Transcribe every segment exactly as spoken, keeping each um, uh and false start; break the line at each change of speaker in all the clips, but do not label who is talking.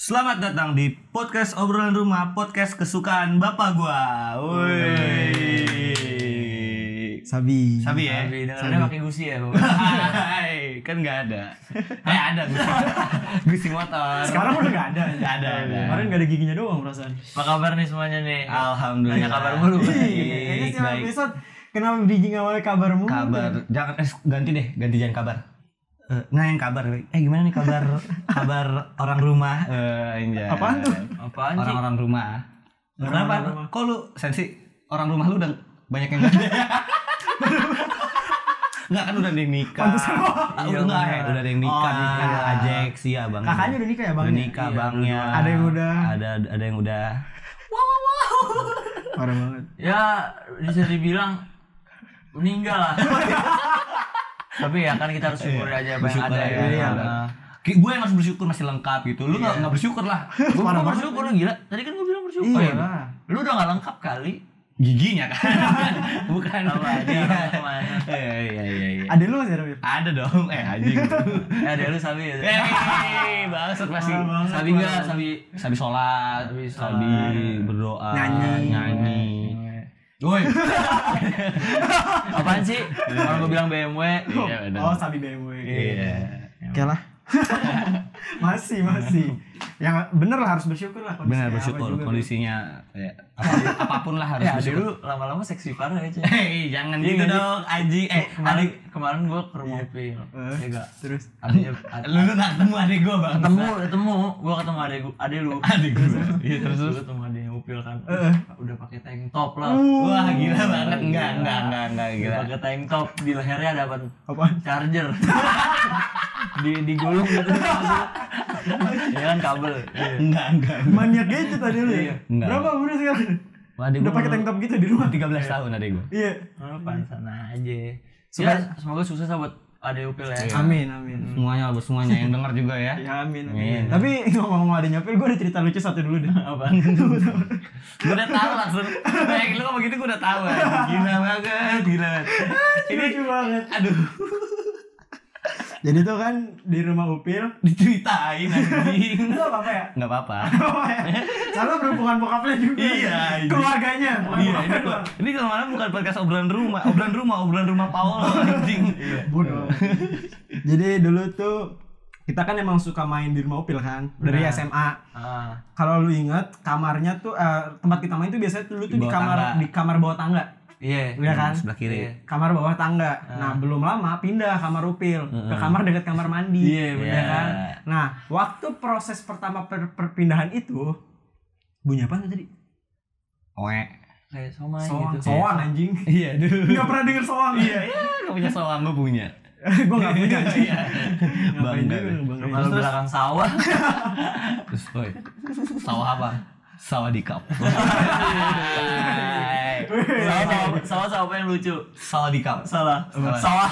Selamat datang di podcast obrolan rumah, podcast kesukaan bapak gua. Woi.
Sabi.
Sabi ya.
Sabi, dengarnya pakai gusi ya, Bu.
Hai, kan enggak ada. Eh ada gusi. Gusi motor.
Sekarang udah enggak ada.
Enggak ada. ada.
Kemarin enggak ada giginya doang perasaan.
Apa kabar nih semuanya nih?
Alhamdulillah.
Tanya kabar mulu.
Kayaknya setiap
Baik.
episode kenapa bridging awalnya kabar mulu.
Kabar. Jangan eh, ganti deh, ganti jangan kabar. Eh, nggak yang kabar. Eh gimana nih kabar kabar orang rumah? Eh anjay.
Apaan tuh?
Apaan sih?
Orang-orang rumah.
Orang-orang
Kenapa?
rumah.
Kok lu sensi orang rumah lu udah banyak yang gede? Enggak kan udah ada yang nikah.
Pantesan.
Iya, udah enggak, udah ada yang nikah,
Oh,
nikah.
iya.
Ajek sih ya, Bang.
Kakaknya udah nikah ya, Bang?
Udah nikah,
Iya,
Bangnya.
Ada yang udah.
Ada ada yang udah.
Parah banget.
Ya bisa dibilang meninggal lah. Tapi ya kan kita harus syukuri aja apa yang
Bersyukur
ada
ya.
ya.
Iya.
Nah,
Gue yang harus bersyukur masih lengkap gitu. Lu enggak
Iya.
enggak bersyukur lah.
Gua
Parah
mau
banget.
bersyukur lu gila. Tadi kan gua bilang bersyukur.
Iya
ya.
lah.
Lu udah gak lengkap kali.
Giginya kan. Bukan.
Apa aja
Iya.
orang kemana.
Iya iya iya iya.
Ada lu masih ada, Bib?
Ada dong. Eh anjing.
Ya ada lu Sabi ya.
Eh, bangsat masih.
Parah banget.
Sabi enggak, Sabi
Sabi sholat,
Sabi
sabi,
sholat.
berdoa,
Nyanyi.
nyanyi. Woi.
apaan sih? Orang gua bilang B M W.
Iya benar.
Oh, Sabi B M W.
Iya.
Oke lah. masih, masih. Yang bener lah harus bersyukur lah kondisinya.
Benar
apa
bersyukur
juga, Bib.
kondisinya ya, apa- apapun lah harus
Ya,
bersyukur.
dulu lama-lama seksi parah ya, Cek.
Hei, jangan
Iya,
gitu
nggak sih?
dong, Aji. Eh,
kemarin
adik,
kemarin gua ke rumah Upil.
Eh,
Ya enggak.
Terus
Adanya ad-
lu lu nak ketemu adik gua, Bang.
ketemu ketemu gua ketemu adek gua adek lu
Adik gua. Iya, terus
terus
terus.
gua ketemu adeknya Upil kan
Eh.
udah pakai tank top lah
Wah, gila banget. Enggak, enggak, enggak, enggak gila.
pakai tank top di lehernya ada apa
apaan?
charger di digulung gitu ya kan kabel. Iya.
Enggak, enggak.
Maniak gitu tadi lu.
Iya.
ya?
Enggak.
Berapa umurnya sekarang?
Adik
Udah
gua
pakai tank top gitu di rumah.
tiga belas tahun adik gua.
Iya.
Oh, pantesan aja.
Supaya-
Ya, semoga sukses lah buat adek Upil ya.
Iya.
Amin, amin.
Semuanya, semuanya yang dengar juga ya.
Ya amin,
Amin.
amin. Tapi ngomong-ngomong ada nyopil, gue ada cerita lucu satu dulu deh.
Apaan?
Gue udah tahu langsung. Baik, lu ngomong gitu gue udah tahu. ya. Gila banget, gila.
Ini lucu banget.
Aduh,
Jadi tuh kan di rumah Upil,
diceritain anjing.
itu apa-apa ya?
Enggak apa-apa.
Soalnya berhubungan bokapnya juga.
Iya, iya.
Keluarganya. bukan
Iya, ini
bokapnya
kok.
doang.
Ini kemana bukan podcast obrolan rumah, obrolan rumah, obrolan rumah Paul anjing.
Bodoh. Jadi dulu tuh kita kan emang suka main di rumah Upil kan dari
Benar.
S M A.
Ah,
Kalau lu inget kamarnya tuh eh, tempat kita main tuh biasanya dulu tuh
Di
di
bawah
kamar
tangga.
di kamar bawah tangga.
iya.
Iya kan?
Sebelah kiri.
Iya.
Kamar bawah tangga. Nah, belum lama pindah kamar Upil ke
Heeh.
kamar dekat kamar mandi.
Iya,
ya
benar.
kan? Nah, waktu proses pertama per- perpindahan itu bunyi apa tadi?
Oe.
Kayak somai
Soang,
gitu.
soang anjing.
Iya, duh.
Enggak pernah denger soang.
Iya, iya, enggak punya soang, gue punya.
Gua enggak punya anjing.
Iya.
Ngapain
Bangga.
juga, bangga.
Rumah lu belakang sawah.
Terus, oi. Sawah apa? Sawah di kap.
Sawah sawah sawah sawah apa yang lucu?
Sawah di kap.
Salah.
Salah.
Sawah.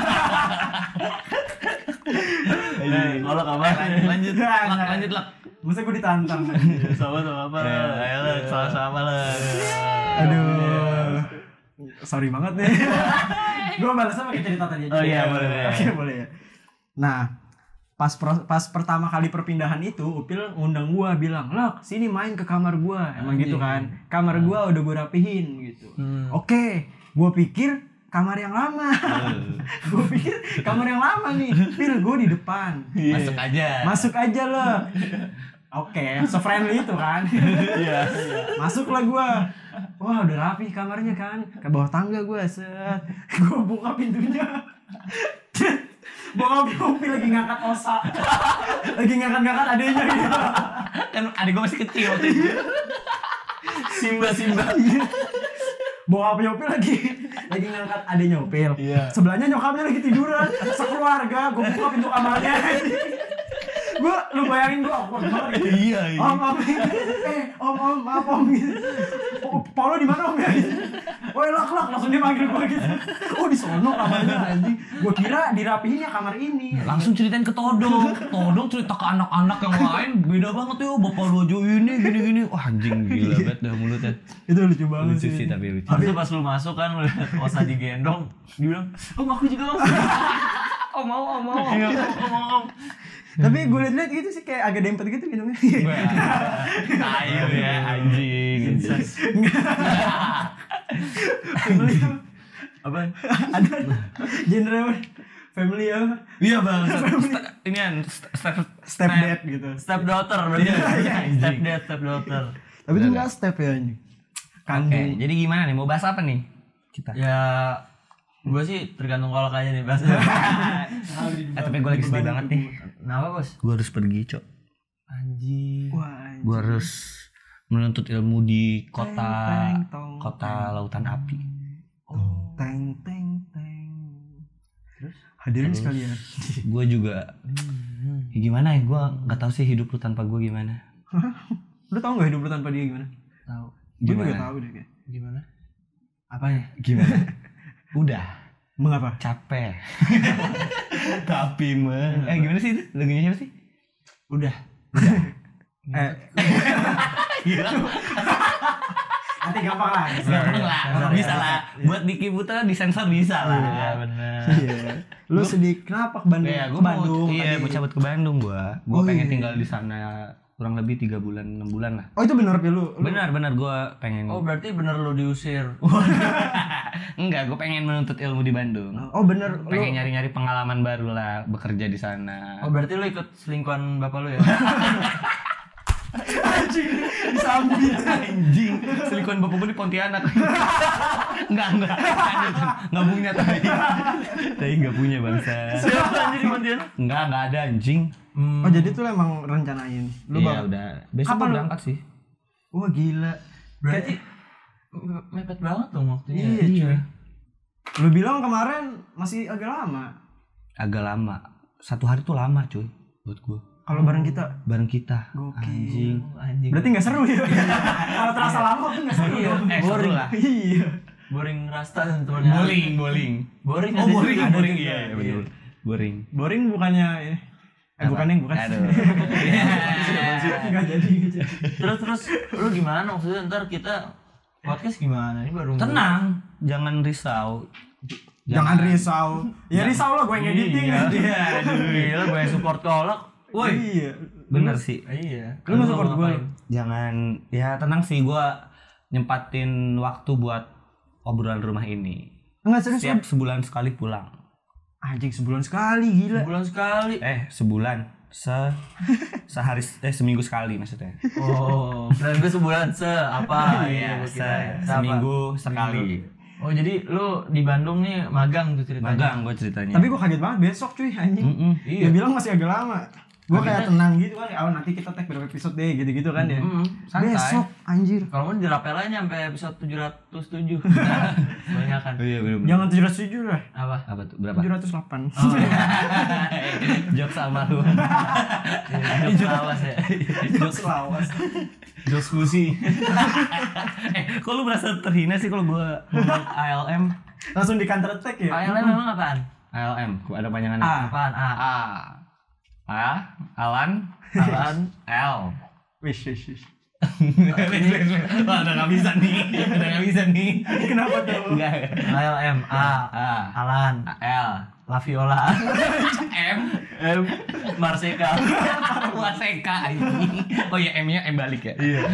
Eh, kalau kabar
Lanjut,
Enggak,
lak,
enggak.
lanjut lak.
Masa gue ditantang.
sawah sawah apa?
Ya, ayo lah, sama-sama lah.
Aduh. Sorry banget nih. Gue balasnya pakai cerita tadi aja.
Oh iya, boleh, boleh.
Oke, boleh ya. Nah, pas pro- pas pertama kali perpindahan itu, Upil ngundang gua bilang, "Lok, sini main ke kamar gua." Emang
Anjing.
gitu kan. Kamar gua udah gua rapihin gitu.
Hmm.
Oke, gua pikir kamar yang lama. Gua pikir kamar yang lama nih. Pil, gua di depan.
Masuk aja.
Masuk aja lo. Oke, se-friendly itu kan.
Iya.
Masuklah gua. Wah, udah rapi kamarnya kan. Ke bawah tangga gua, set. Gua buka pintunya. Bokap Upil lagi ngangkat osa. Lagi ngangkat-ngangkat adenya gitu.
Kan adik gue masih kecil waktu itu.
Simba Simba.
Bokap Upil lagi lagi ngangkat adenya Upil.
Iya.
Sebelahnya nyokapnya lagi tiduran. Sekeluarga, gua buka pintu kamarnya. Gua lu bayangin gua awkward banget gitu.
Iya, iya.
Om, om, eh, om, om, maaf om gitu. Oh, Paulo di mana om ya? Woi lak lak langsung dia manggil gua gitu. Oh di sono kamarnya anjing. Gua kira dirapihin ya kamar ini.
Langsung ceritain ke Todong. Todong cerita ke anak-anak yang lain beda banget ya. Bapak Rojo ini gini-gini. Wah anjing gila banget dah mulutnya.
Itu lucu banget
Lucu sih tapi lucu.
Habis itu pas lu masuk kan lu lihat Osa digendong, dia bilang, "Oh, aku juga Om." Om om om om om om.
Tapi gue liat-liat gitu sih kayak agak dempet gitu gitu.
Ayo ya anjing.
Family
Apa?
ada genre apa? Family apa?
Iya bang. Ini kan step
Step dad gitu.
step daughter berarti. Step dad, step daughter.
Tapi itu enggak step ya anjing.
Oke,
Kandung.
jadi gimana nih? Mau bahas apa nih? Kita.
Ya, gue sih tergantung kolak aja nih bahasa.
Eh, tapi gue lagi sedih banget nih.
Kenapa bos?
Gue harus pergi, Cok.
Anjing.
Wah, anjing.
Gue harus menuntut ilmu di kota
Teng, tong,
kota lautan api.
Oh, teng teng teng. Terus hadirin sekalian.
Gue juga ya gimana ya? Gue nggak tahu sih hidup lu tanpa gue gimana.
Lu tau gak hidup lu tanpa dia gimana?
Tahu.
Gue juga
Gimana?
tahu deh kayak.
Gimana? Apanya?
Gimana? Udah
Mengapa?
capek. Tapi mah. Eh gimana sih itu? Lagunya siapa sih?
Udah.
Eh, nanti gampang lah.
Gampang lah,
Sensor
bisa
ya.
lah. Buat Diki Putra disensor bisa lah.
Iya benar.
Iya. Lu sedih kenapa ke Bandung?
Iya,
Ke
gue mau,
Bandung.
iya,
tadi.
mau cabut ke Bandung gua. Gua
Oh,
pengen
iya.
tinggal di sana kurang lebih tiga bulan, enam bulan lah.
Oh, itu benar ya lu? Lu-
Benar, benar gua pengen.
Oh berarti bener lo diusir.
Enggak, gua pengen menuntut ilmu di Bandung.
Oh, bener. Lu
Pengen nyari-nyari pengalaman baru lah, bekerja di sana.
Oh berarti lo ikut selingkuhan bapak lo ya?
anjing disambit.
Anjing, selingkuhan bapak gua di Pontianak. Enggak, enggak. Enggak punya tapi. Tapi enggak punya bangsa.
Siapa anjir di Pontianak?
Enggak, enggak ada anjing.
Hmm.
Oh, jadi tuh lu emang rencanain. Lu
Iya,
bak-
udah. Besok
Kapan
gua
lu-
berangkat sih.
Wah, gila.
Berarti me- mepet banget dong waktunya.
Iya, cuy. Lu bilang kemarin masih agak lama.
Agak lama. Satu hari tuh lama, cuy, buat gua.
Kalau bareng kita.
Bareng kita.
Gokil.
Anjing.
Oh, anjing.
Berarti enggak seru ya? Kalau terasa lama kan enggak seru.
Iya,
dong.
eh, boring
lah.
Iya.
boring rasta tentunya.
Bowling, bowling.
Boring
Oh,
ada
boring,
juga, ada
boring.
juga.
Iya, iya, betul. Boring.
Boring bukannya ini. Eh,
Apa?
bukan yang bukan.
Aduh.
Enggak jadi gitu.
Terus terus lu gimana maksudnya ntar kita podcast gimana? Ini baru
Tenang, jangan risau.
Jangan risau. Ya risau lah gue ngediting
Iya.
aja.
Iya, aduh, gila gue yang support kolak. Woi.
Iya.
Bener sih.
Iya.
Lu mau support gue?
Jangan, ya tenang sih, gua nyempatin waktu buat obrolan rumah ini.
Enggak serius.
Setiap sebulan sekali pulang.
Anjing sebulan sekali gila.
Sebulan sekali.
Eh, sebulan. Se sehari eh seminggu sekali maksudnya.
Oh, dan gue sebulan se apa?
Iya,
gua
se
kira. Se apa?
seminggu sekali.
Oh, jadi lu di Bandung nih magang tuh ceritanya.
Magang gua ceritanya.
Tapi gue kaget banget besok cuy anjing.
Mm-mm.
Dia bilang masih agak lama. Gue kayak tenang gitu kan. Oh nanti kita tag berapa episode deh gitu-gitu kan ya.
Mm-mm, santai.
Besok anjir.
Kalau mau dirapel aja sampai episode tujuh ratus tujuh. Banyak kan.
Oh iya bener-bener.
Jangan tujuh ratus tujuh lah.
Apa?
Apa tuh? Berapa?
tujuh ratus delapan.
Oh,
Jok sama lu.
Jok awas ya.
Jokes lawas.
Jok skusi. Eh, kok lu merasa terhina sih kalau gua ngomong A L M?
Langsung di counter attack ya.
A L M memang apaan?
A L M, gua ada panjangannya.
A.
Apaan? A.
A. A. Alan.
Apaan?
L.
Wish wish wish.
Wah, udah nggak bisa nih. Udah nggak bisa nih.
Kenapa tuh?
Enggak.
A L M A.
A.
Alan.
L.
Laviola.
M.
M. Marseka.
Waseka anjing. Oh ya M-nya M balik ya.
Iya.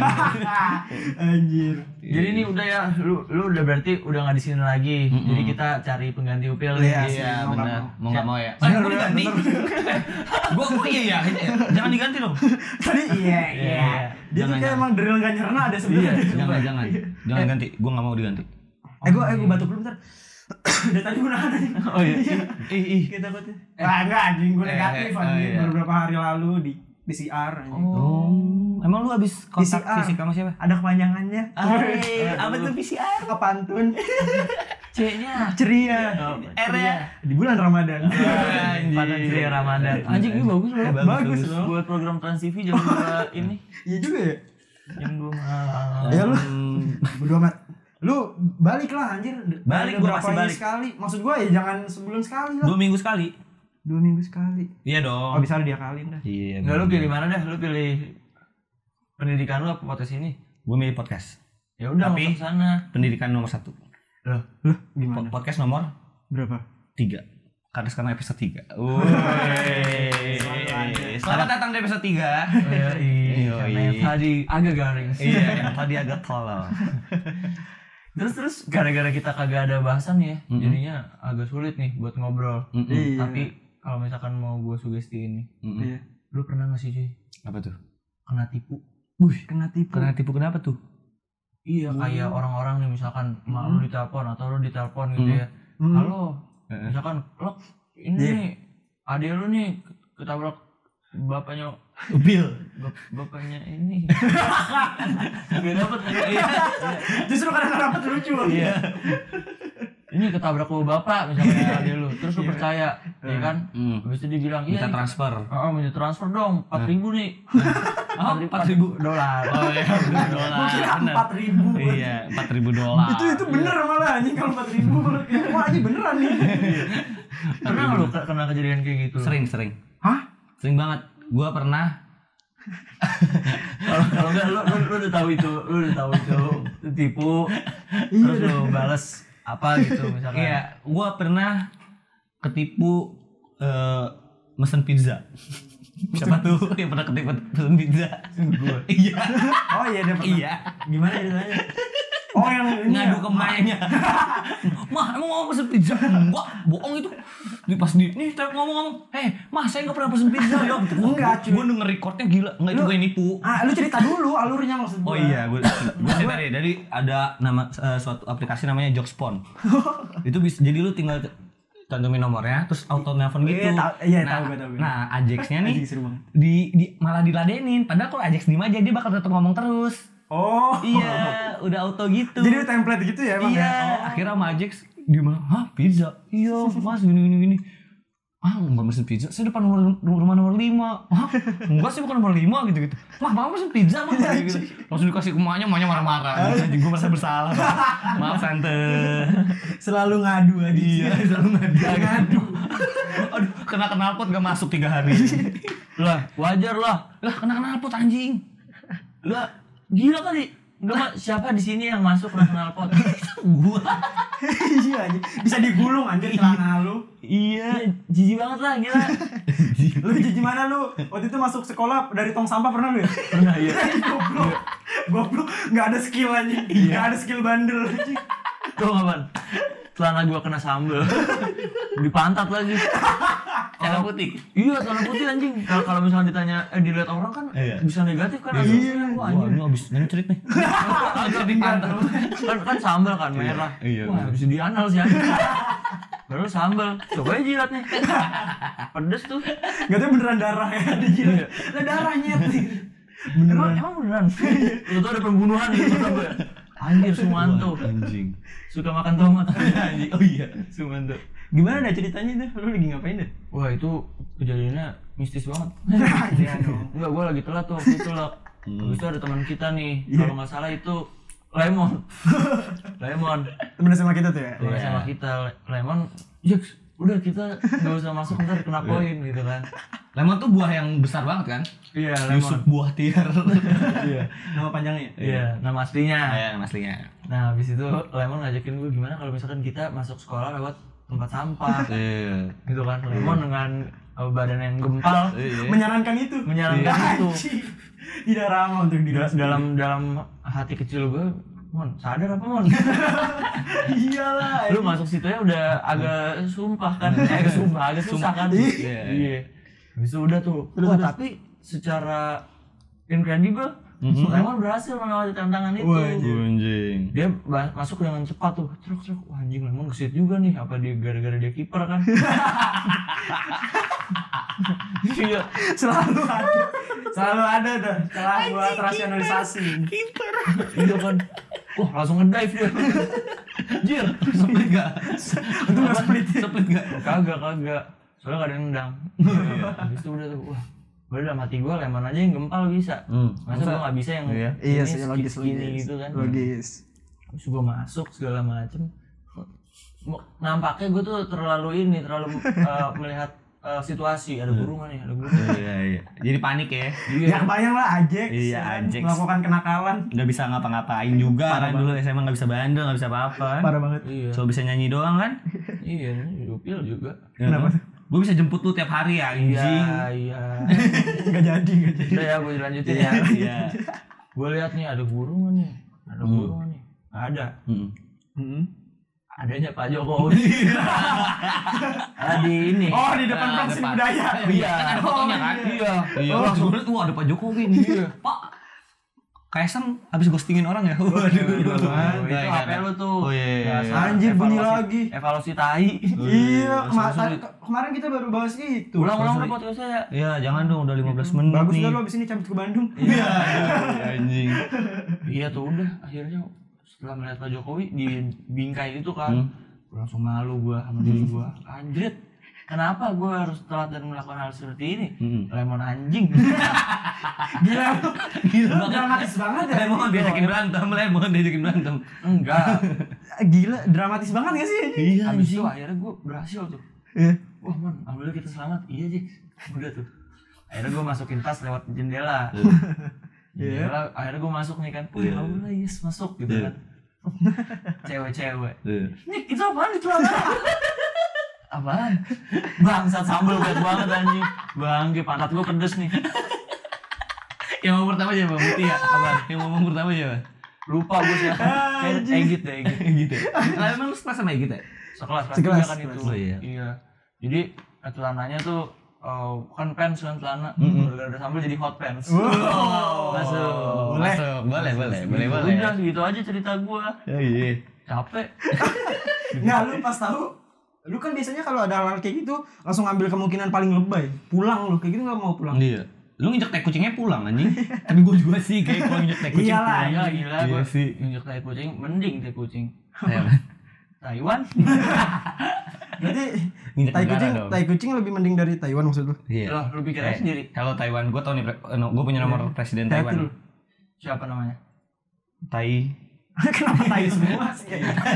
Anjir.
Jadi ini udah ya, lu lu udah berarti udah nggak di sini lagi. Jadi kita cari pengganti Upil.
Iya,
nih.
sih,
Iya,
mau nggak
benar.
mau.
Mau nggak mau ya?
Bener,
Eh, gua
bener,
diganti.
bener.
Gua gua iya ya. Jangan diganti dong.
Tadi iya iya.
Iya.
Dia tuh
Jangan,
kayak
jangan.
emang drill gak nyerna ada sebenarnya.
Jangan jangan. Jangan ganti. Gua nggak mau diganti.
Eh gue eh gue batuk dulu bentar. Dari tadi gue nahan aja.
Oh iya.
Ih ih.
Kita takutnya. Ah enggak anjing gue
Eh,
negatif
eh, oh,
anjing.
iya.
Baru beberapa hari lalu di P C R anjing.
Oh. Emang lu habis kontak
P C R.
fisik sama siapa?
Ada kepanjangannya.
Eh, apa tuh P C R?
Kepantun.
C-nya.
Ceria.
Oh,
R ya?
Di bulan Ramadan.
Anjing.
Pada ceria Ramadan. Anjing ini bagus loh.
Eh,
Bagus loh.
Buat program Trans T V jam dua ini.
Iya juga ya.
Jam dua malam.
Ya lu
Hmm.
bodo amat. Lu balik lah anjir.
Balik,
Ada
gua
berapa
pasti
ini
balik.
sekali. Maksud gua ya jangan sebulan sekali lah.
Dua minggu sekali.
Dua minggu sekali.
Iya
Oh
dong.
bisa dia kalin dah.
Iya.
Enggak, lu pilih mana dah? Lu pilih pendidikan lu apa podcast ini?
Gue milih podcast.
Ya udah
Tapi-
masuk sana.
Pendidikan nomor satu.
Loh,
Loh
Po-
gimana?
Podcast nomor
Berapa?
tiga. Karena sekarang episode tiga. Woi. Selamat datang di episode tiga.
Iya, iya. Karena yang tadi agak garing.
Iya, yang tadi agak tolol.
Terus terus gara-gara kita kagak ada bahasan ya,
Mm-mm.
jadinya agak sulit nih buat ngobrol.
Mm-mm.
Iya.
Tapi kalau misalkan mau gue sugestiin nih,
Mm-mm.
Iya.
lu pernah nggak sih cuy
Apa tuh?
kena tipu?
Wih, kena tipu.
Kena tipu kenapa tuh?
Iya, kayak orang-orang nih misalkan mak lu ditelepon atau lu ditelepon gitu
Mm.
ya.
Hmm.
Halo,
Heeh.
misalkan lo ini
Iya.
nih adik lu nih ketabrak bapaknya
Bil.
bap- bapaknya ini. Gak dapet. Iya.
Justru kadang dapat lucu.
Iya. Ini ketabrak lu bapak misalnya adik lu, terus lu percaya, ya kan?
Hmm.
Habis itu dibilang, iya,
Minta transfer.
oh, minta transfer dong, empat ribu nih.
Oh, empat ribu
dolar.
Oh iya, dolar.
Gue kira
Bener.
empat ribu.
Iya, empat ribu dolar.
Itu itu bener malah anjing kalau empat ribu. Wah, ini beneran nih.
Pernah nggak lu ke- kena kejadian kayak gitu?
Sering, sering.
Hah?
Sering banget. Gua pernah.
Kalau kalau enggak lu, lu, lu udah tahu itu, lu udah tahu itu tipu, terus lu balas apa gitu misalkan.
Iya, gua pernah ketipu eh, mesen pizza. Siapa tuh yang pernah ketipu mesen pizza?
Gua.
Iya.
Oh iya dia pernah.
Iya.
Gimana ceritanya?
Oh yang ini
Ngadu
ya?
ke emaknya. Mah, emang mau pesen pizza? Enggak, bohong itu. Di pas di nih saya ngomong-ngomong, "Eh, Mas, saya enggak pernah pesen pizza ya." Gitu.
Enggak, cuy.
Gua denger recordnya gila. Enggak itu
Lu-
gue nipu.
Ah, lu cerita dulu alurnya maksud
Oh
gua.
iya, gue gue cerita deh. Dari ada nama eh, suatu aplikasi namanya Jokspon. Itu bisa jadi lu tinggal cantumin nomornya terus auto nelpon gitu.
Iya, tahu- iya,
nah,
tahu gue, tahu gue.
Nah, Ajax-nya nih
Anjing, seru banget.
di, di malah diladenin. Padahal kalau Ajax diem aja dia bakal tetap ngomong terus.
Oh.
Iya, udah auto gitu.
Jadi template gitu ya emang
iya,
ya? Oh.
akhirnya sama Ajax dia bilang, "Hah, pizza?" "Iya, Mas, gini gini gini." "Ah, enggak mesen pizza, saya depan nomor, rumah nomor lima." "Hah? Enggak sih, bukan nomor lima," gitu-gitu. "Mah, Mama mesen pizza, Mah." gitu. Langsung dikasih ke emaknya, emaknya marah-marah. Anjing, gue merasa bersalah. Maaf, Tante.
Selalu ngadu aja.
Iya, selalu ngadu. Ngadu. Aduh, kena knalpot gak masuk tiga hari.
Lah, wajar lah.
Lah, kena knalpot anjing.
Lah, gila kali. Enggak, Mak, siapa di sini yang masuk kena knalpot?
Gua.
Iya anjing. Bisa digulung anjir celana lu.
Iya.
Jijik banget lah, gila.
Lu jijik mana lu? Waktu itu masuk sekolah dari tong sampah pernah lu ya?
Pernah ya.
Goblok. Goblok, enggak ada skill anjing. Enggak ada skill bandel anjing.
Tuh kapan? Celana gua kena sambel. Di pantat lagi.
Celana putih.
Iya, celana putih anjing. Kalau kalau misalnya ditanya eh dilihat orang kan
Iya.
bisa negatif kan
Iya.
asumsinya. Wah,
Wah,
anjing.
ini abis nyencerit nih. Agak di pantat.
kan kan sambal kan merah.
Iya,
Wah,
iya.
bisa dianal sih anjing. Baru sambal. Coba aja jilat nih. Pedes tuh.
Enggak tahu beneran darah ya dijilat.
Iya.
Lah darahnya tuh.
Emang, emang beneran? Lu tuh ada pembunuhan gitu sampai. Anjir, Sumanto.
Anjing.
Suka makan tomat. Anjing. Oh iya, Sumanto.
Gimana dah ceritanya tuh? Lu lagi ngapain deh?
Wah, itu kejadiannya mistis banget.
Iya dong.
Enggak, gue lagi telat tuh waktu itu lah. Habis itu ada teman kita nih, kalau nggak salah itu Lemon. Lemon.
Temen sama kita tuh ya?
Temen
Iya.
sama kita, Lemon. Jaks, udah kita nggak usah masuk ntar kena poin gitu kan.
Lemon tuh buah yang besar banget kan?
Iya,
Yusuf
Lemon.
buah tiar.
Iya.
Nama panjangnya?
Iya, nama aslinya.
Iya, aslinya.
Nah, habis itu Lemon ngajakin gue gimana kalau misalkan kita masuk sekolah lewat tempat sampah.
Iya.
Gitu kan. Lemon dengan uh, badan yang gempal
Iya.
Menyarankan itu?
menyarankan itu.
Anjing. Tidak ramah untuk diri
Dal-
sendiri.
dalam dalam hati kecil gue, Mon, sadar apa Mon?
Iyalah.
Lu masuk situ ya udah agak sumpah kan, eh, agak sumpah, agak susah kan.
Iya.
Iya. Habis itu udah tuh.
Terus,
Wah,
terus.
tapi secara incredible, Lemon berhasil melewati tantangan itu.
Wah, anjir.
Anjing.
Dia ba- masuk dengan cepat tuh. Truk truk. Wah, anjing, Lemon kesit juga nih. Apa dia gara-gara dia kiper kan? Iya.
Selalu ada. Selalu ada dah celah buat rasionalisasi.
Iya kan. Wah, langsung ngedive dia.
Jir, split gak?
Itu nggak split.
Split gak?
Kagak, kagak. Soalnya gak ada yang nendang. Habis itu udah tuh, wah. Udah dalam hati gue, Lemon aja yang gempal bisa.
Hmm.
Masa gue gak bisa yang
Iya.
Iya
ini
sih, logis
segini
logis.
gitu kan.
Logis.
Terus gue masuk segala macem. Mo- Nampaknya gue tuh terlalu ini, terlalu uh, melihat uh, situasi. Ada guru nggak nih? Ada guru nggak?
Iya, iya. Jadi panik ya.
Iya.
Ya kebayang lah Ajax.
Iya,
ya kan?
Ajax.
Melakukan kenakalan.
Nggak bisa ngapa-ngapain juga
Parah
kan dulu S M A nggak bisa bandel, nggak bisa apa-apa kan.
Parah banget.
Iya.
Cuma bisa nyanyi doang kan?
Iya, Yupil juga.
Kenapa tuh?
Gue bisa jemput lu tiap hari ya, anjing.
Iya, iya.
Enggak jadi, enggak jadi.
Udah ya, gue lanjutin ya.
Iya.
Gue lihat nih ada burung nih. Ada
Hmm.
burung nih. Ada.
Hmm.
Heeh.
Adanya Pak Jokowi. Ada di ini.
Oh, di depan
Nah,
Pensi
depan.
Budaya.
Iya, kan ada fotonya kan?
Iya.
Iya, langsung lihat, wah ada Pak Jokowi nih. Pak, Kaisang habis ghostingin orang ya? Waduh,
Itu
Nggak,
H P
nggak.
lu tuh.
Oh iya.
Biasa,
Anjir, bunyi
evaluasi-
lagi.
Evaluasi tai.
Iya, kema-
sulit.
ke- kemarin kita baru bahas itu.
Ulang-ulang udah podcast saya.
Iya, jangan dong, udah lima belas menit
Bagus
nih.
dah lu abis ini cabut ke Bandung.
Iya, anjing.
Iya tuh udah akhirnya setelah melihat Pak Jokowi di bingkai itu kan,
Hmm.
gua langsung malu gua sama diri gua. Anjir, kenapa gua harus telat dan melakukan hal seperti ini?
Hmm.
Lemon anjing.
Gila,
Gila
lu dramatis banget ya.
Lemon diajakin berantem, Lemon diajakin berantem.
Enggak.
Gila, dramatis banget gak sih?
Iya,
Habis itu akhirnya gua berhasil tuh.
Iya.
Wah man, alhamdulillah kita selamat. Iya Jik. Udah tuh. Akhirnya gua masukin tas lewat jendela. Jendela, akhirnya gua masuk nih kan. Wih, alhamdulillah yes masuk gitu
Iya.
kan. Cewek-cewek.
Iya.
Nih, itu apaan di celana? Apaan? Bangsat sambel banget banget anjing. Bangke pantat gua pedes nih.
Yang mau pertama siapa? Muti ya? Apaan? Yang mau ngomong pertama siapa?
Lupa gua sih. Kayak Egit deh, Egit.
Gitu. Lah emang lu sekelas sama Egit ya?
Sekelas kelas
Sekelas,
tiga kan itu.
Oh, iya.
Iya. Jadi celananya tuh eh, kan pants kan celana. Gara-gara ada sambel jadi hot pants.
Wow.
Masuk.
Boleh.
Masuk, boleh, boleh, boleh, boleh.
Udah gitu aja cerita gua.
Ya, iya.
Capek.
Nggak, lu pas tahu, lu kan biasanya kalau ada hal kayak gitu langsung ambil kemungkinan paling lebay, pulang lu kayak gitu nggak mau pulang.
Iya. Lu nginjek tai kucingnya pulang anjing. Tapi gua juga sih kayak kalau nginjek tai kucing.
Iyalah,
pulang.
Gila gila
Iya
gua.
sih.
Injek tai kucing mending tai kucing.
Iya.
Taiwan.
Berarti
Nginjek
tai
negara
kucing,
dong.
tai kucing lebih mending dari Taiwan maksud lu?
Iya.
Loh, lu pikir aja
Eh,
sendiri.
Kalau Taiwan, gue tau nih, pre- eh, no, gue punya nomor presiden
Hati
Taiwan.
lu.
Siapa namanya?
Tai.
Kenapa tai semua sih?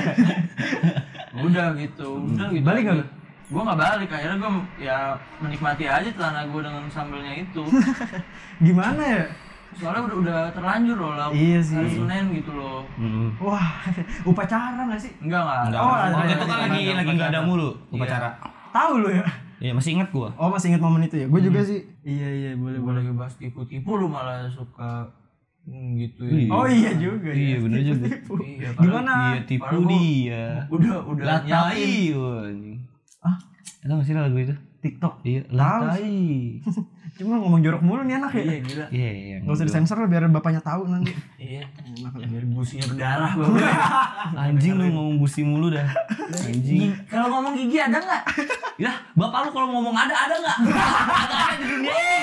Udah gitu. Udah gitu.
Balik nggak lu?
Gua nggak balik, akhirnya gua ya menikmati aja celana gua dengan sambelnya itu.
Gimana ya?
Soalnya udah udah terlanjur loh lah.
Iya sih.
Hari Senin gitu loh.
Hmm.
Wah, upacara nggak sih?
Enggak enggak.
Enggak,
Oh,
oh,
ada,
itu
ada,
kan
ada,
lagi
ada
lagi nggak ada
upacara.
mulu
Iya.
upacara.
Tahu lu ya?
Iya masih ingat gua.
Oh, masih ingat momen itu ya? Gue juga sih. Iya iya boleh
Gua
boleh.
lagi bahas tipu-tipu lu malah suka hmm, gitu ya.
Iya.
Oh iya juga.
Iya
ya.
bener juga.
Iya,
Gimana?
Iya tipu
Padahal gua-
dia.
Udah udah nyiapin.
Latai. wah, anjing.
Ah?
Tahu nggak sih lagu itu?
TikTok.
Iya.
Tahu.
Latai.
Cuma ngomong jorok mulu nih anak ya.
Iya gila.
Iya iya.
Gak usah disensor lah biar bapaknya tahu nanti.
Iya.
Enak lah.
Biar businya berdarah bang.
Anjing lu ngomong busi mulu dah. Anjing.
Kalau ngomong gigi ada nggak?
Ya, bapak lu kalau ngomong ada ada nggak? Ada ada di dunia ini.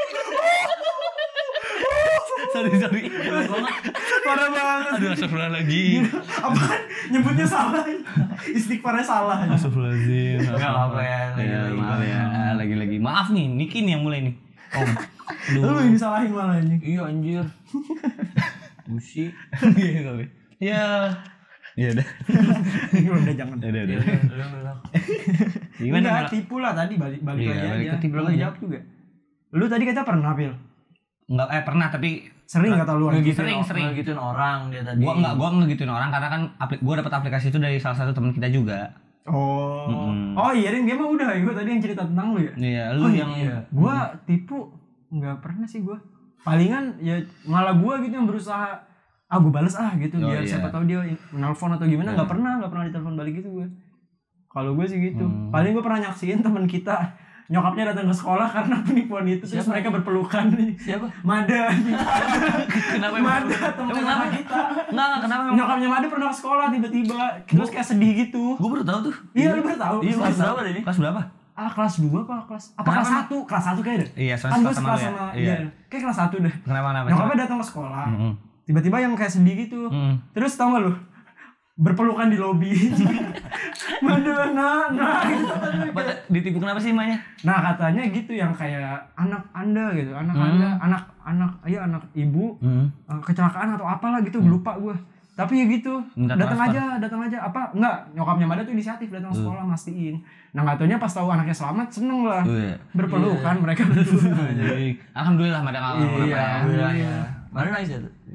sorry sorry.
Parah banget.
Aduh astagfirullahaladzim.
Apaan? Nyebutnya salah. Istighfarnya salah.
Astagfirullahaladzim.
Nggak apa-apa ya,
Ya,
lagi-lagi.
maaf ya, lagi-lagi. Maaf nih, Niki nih yang mulai nih. Om.
Lu yang disalahin malah ini.
Iya anjir. Busi.
Iya, sorry. Ya. Ya udah.
Udah jangan.
Ya udah
Iya,
udah.
udah, udah.
Gimana?
Enggak,
Mel?
tipu lah tadi balik balik
Iya,
lagi
balik
aja.
ke tipu
Belum
lagi.
dijawab juga. Lu tadi kata pernah, Pil.
Enggak eh pernah tapi
Sering kata lu orang
Ngegituin
Sering,
o-
sering.
ngegituin orang dia tadi.
gua enggak gua ngegituin orang karena kan apli- gua dapat aplikasi itu dari salah satu teman kita juga.
Oh.
Mm-mm.
Oh iya, Ring, dia mah udah. Gua tadi yang cerita tentang lu ya.
Iya, lu
Oh,
yang
iya.
Gua tipu enggak pernah sih gua. Palingan ya malah gua gitu yang berusaha ah gua bales ah gitu
Oh,
biar
iya.
siapa tahu dia menelpon atau gimana nggak
Hmm.
pernah nggak pernah ditelepon balik gitu gua. Kalau gue sih gitu.
Hmm.
Paling gue pernah nyaksiin teman kita nyokapnya datang ke sekolah karena penipuan itu terus
Siapa?
mereka berpelukan nih.
Siapa?
Mada.
kenapa emang?
Mada teman
Emang
sama
kenapa?
kita.
Enggak, enggak kenapa emang?
Nyokapnya Mada pernah ke sekolah tiba-tiba terus kayak sedih gitu.
Gua baru tahu tuh.
Iya lu baru tahu.
Iya,
kelas
kelas
berapa
berapa
tadi?
Kelas berapa?
Ah kelas dua apa kelas apa
Kenapa
kelas
emang?
satu kelas satu kayak deh.
Iya,
Kan gue
sekelas sama
sekelas
lu ya?
sama
Iya.
iya. Kayak kelas satu deh.
Kenapa kenapa?
Nyokapnya datang ke sekolah.
Heeh.
Tiba-tiba yang kayak sedih gitu.
Heeh.
Terus tau gak lu? Berpelukan di lobi. Mada nah nah gitu.
Ditipu kenapa sih emaknya?
Nah katanya gitu yang kayak anak anda gitu, anak
Hmm.
anda, anak anak, iya anak ibu
Heeh.
eh, kecelakaan atau apalah gitu, lupa gue. Tapi ya gitu,
Minta
datang
transfer.
aja, datang aja. Apa enggak? Nyokapnya Mada tuh inisiatif datang ke sekolah mastiin. Nah nggak taunya pas tahu anaknya selamat seneng lah,
Iya.
berpelukan mereka berdua.
Anjing. Alhamdulillah ada enggak
Iya.
apa-apa ya.
Alhamdulillah ya. Mana nangis ya tuh?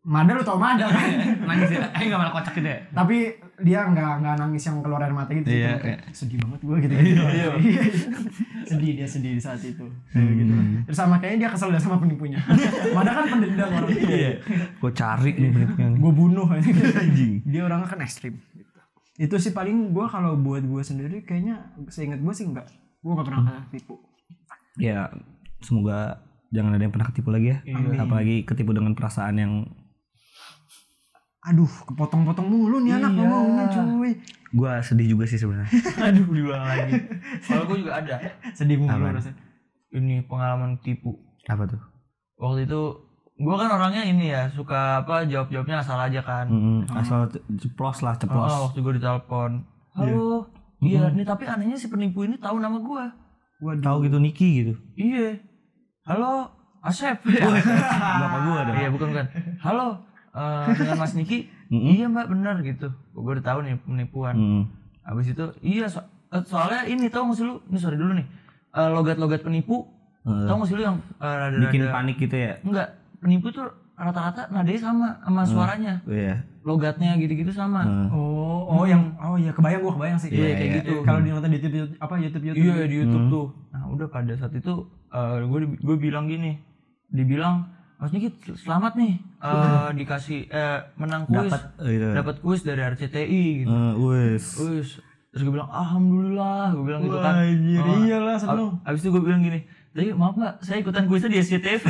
Mada lu tau Mada kan?
Nangis ya? Eh nggak malah kocak gitu ya?
Tapi dia nggak nggak nangis yang keluar air mata gitu.
Iya,
Kayak,
iya.
sedih banget gue gitu. gitu.
Iya.
Sedih dia sedih di saat itu. Kayak gitu. Terus sama kayaknya dia kesel dah sama penipunya. Mada kan pendendam orang.
Iya. Gue cari nih penipunya.
Gue bunuh aja.
Anjing.
Dia orangnya kan ekstrim. Gitu. Itu sih paling gue kalau buat gue sendiri kayaknya seingat gue sih enggak. Gue gak pernah kena tipu.
Ya semoga jangan ada yang pernah ketipu lagi ya.
Amin.
Apalagi ketipu dengan perasaan yang
Aduh, kepotong-potong mulu nih anak
Iya.
ngomongnya cuy.
gue sedih juga sih sebenarnya.
Aduh, diulang lagi. Kalau gue juga ada.
Sedih mulu
Apaan?
rasanya.
Ini pengalaman tipu.
Apa tuh?
Waktu itu gue kan orangnya ini ya suka apa jawab-jawabnya asal aja kan.
Mm-mm. Asal ce- ceplos lah ceplos.
Oh, waktu gue ditelepon. Halo. Iya, nih tapi anehnya si penipu ini tahu nama gue.
Waduh.
Tahu gitu Niki gitu.
Iya. Halo, Asep.
Bapak gue ada.
Iya, bukan bukan. Halo, eh, dengan Mas Niki.
Mm-mm.
Iya mbak, benar gitu. Gue udah tahu nih penipuan.
Mm.
Habis itu, iya so- eh, soalnya ini tau gak sih lu? Ini sorry dulu nih. Eh, logat-logat penipu.
Eh,
Tau gak sih lu yang eh, rada-rada
bikin panik gitu ya.
Enggak, penipu tuh rata-rata nadanya sama sama suaranya.
Iya.
Logatnya gitu-gitu sama.
Eh.
Oh, oh yang oh iya kebayang gua kebayang sih.
Iya, kayak
iya.
gitu.
Kalau di nonton di YouTube apa YouTube YouTube.
Iya di YouTube tuh. Nah udah pada saat itu gue gue bilang gini, dibilang Mas Niki selamat nih eh, dikasih eh, menang kuis,
Dapat eh, gitu.
dapat kuis dari R C T I gitu.
Eh, wes.
Kuis. Terus gue bilang alhamdulillah, gue bilang gitu kan.
Anjir,
Oh,
iyalah seneng.
ab- Abis itu gue bilang gini, tadi maaf mbak, saya ikutan kuisnya di S C T V.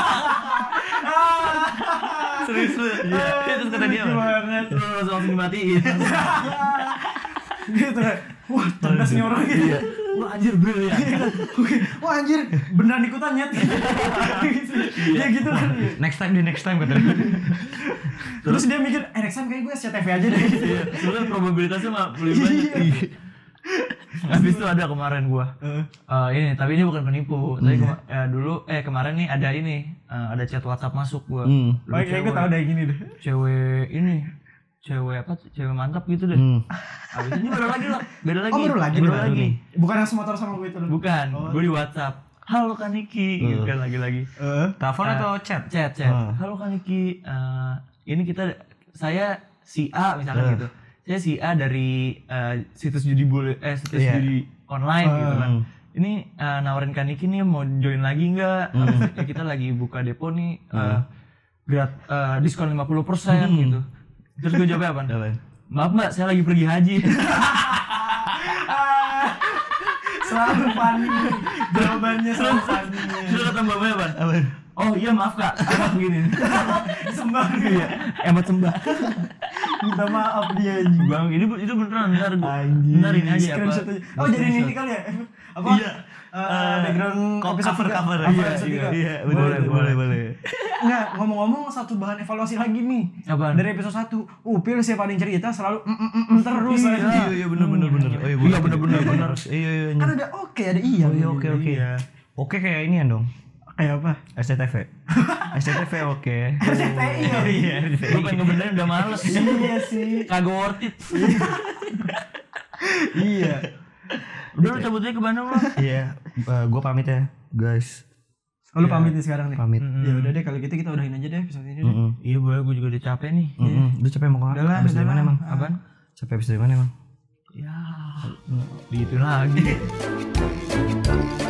Serius lu? Iya. Terus kata dia,
banget.
terus langsung langsung dimatiin.
Gitu kan. Wah, cerdas nih orang gitu.
Iya. Wah anjir brilian.
Oke. Wah anjir, beneran ikutan nyet. Ya gitu kan.
Next time di next time katanya.
Terus dia mikir, eh next time kayak gue S C T V aja deh.
Iya. Soalnya probabilitasnya mah lebih banyak. Habis itu ada kemarin gua. Eh, ini tapi ini bukan penipu. Tapi kema- eh, dulu eh kemarin nih ada ini eh, ada chat WhatsApp masuk gua.
Hmm.
Dulu
Baik, kayak gue
cewek-
tau deh gini deh.
Cewek ini cewek apa tuh? Cewek mantap gitu deh.
Hmm.
Habis ini baru lagi loh. Beda lagi.
Oh baru lagi
Baru
nih,
lagi.
nih. Bukan yang semotor sama gue itu.
Bukan. Gua di WhatsApp. Halo Kak Niki, gitu kan lagi-lagi.
Eh.
Telepon
Eh,
atau chat?
Chat, chat.
Ah.
Halo Kak Niki, eh, ini kita saya si A misalkan
Ah.
gitu. Saya si A dari eh, situs judi boleh eh situs
Iya.
judi online gitu kan.
Hmm.
Ini eh, nawarin Kak Niki nih mau join lagi nggak?
Hmm.
Ya, kita lagi buka depo nih eh, grat eh, diskon lima puluh persen
Hmm.
gitu. Terus gue jawabnya apa?
Apa?
Maaf Mbak, saya lagi pergi haji.
Selalu funny. Jawabannya selalu funny.
Terus kata mbaknya apa?
Apa?
Oh iya maaf Kak, emat begini.
Sembah
Iya, emat sembah.
minta maaf dia anjing.
Bang, ini itu beneran ntar gua.
Anjing.
Ntar ini aja apa?
Screenshot aja. Oh jadi ini kali ya? Apa?
Iya.
Eh, background
Kok
episode
cover
tiga.
cover.
Apa
Iya,
episode
iya,
tiga?
iya,
Boleh,
boleh, boleh, boleh.
Enggak, ngomong-ngomong satu bahan evaluasi lagi nih.
Apaan?
Dari episode satu. Upil siapa ada yang cerita selalu mm, mm, mm, mm terus.
Iya,
anjing.
Iya, iya, bener, bener, bener. Oh,
Iya,
boleh.
bener, bener,
Iya,
bener.
Iya, iya, iya.
Kan ada oke, ada iya.
Oh, iya, oke, oke.
Iya.
Oke kayak ini ya dong.
Kayak apa?
S C T V. S C T V oke.
R C T I ya?
Iya, R C T I.
Gue pengen ngebenerin udah males.
Iya sih.
Kagak worth it.
Iya.
Udah lu cabut aja ke Bandung lo.
Iya, gue pamit ya, guys.
Oh, lu pamit nih sekarang nih.
Pamit.
Ya udah deh kalau gitu kita udahin aja deh episode ini deh.
Mm-mm.
Iya boleh, gue juga udah capek nih.
Mm-mm. Lu capek mau kemana?
Udah lah,
Habis
udah
dari mana
lah.
emang?
Apaan?
Capek habis dari mana emang?
Ya, gitu lagi.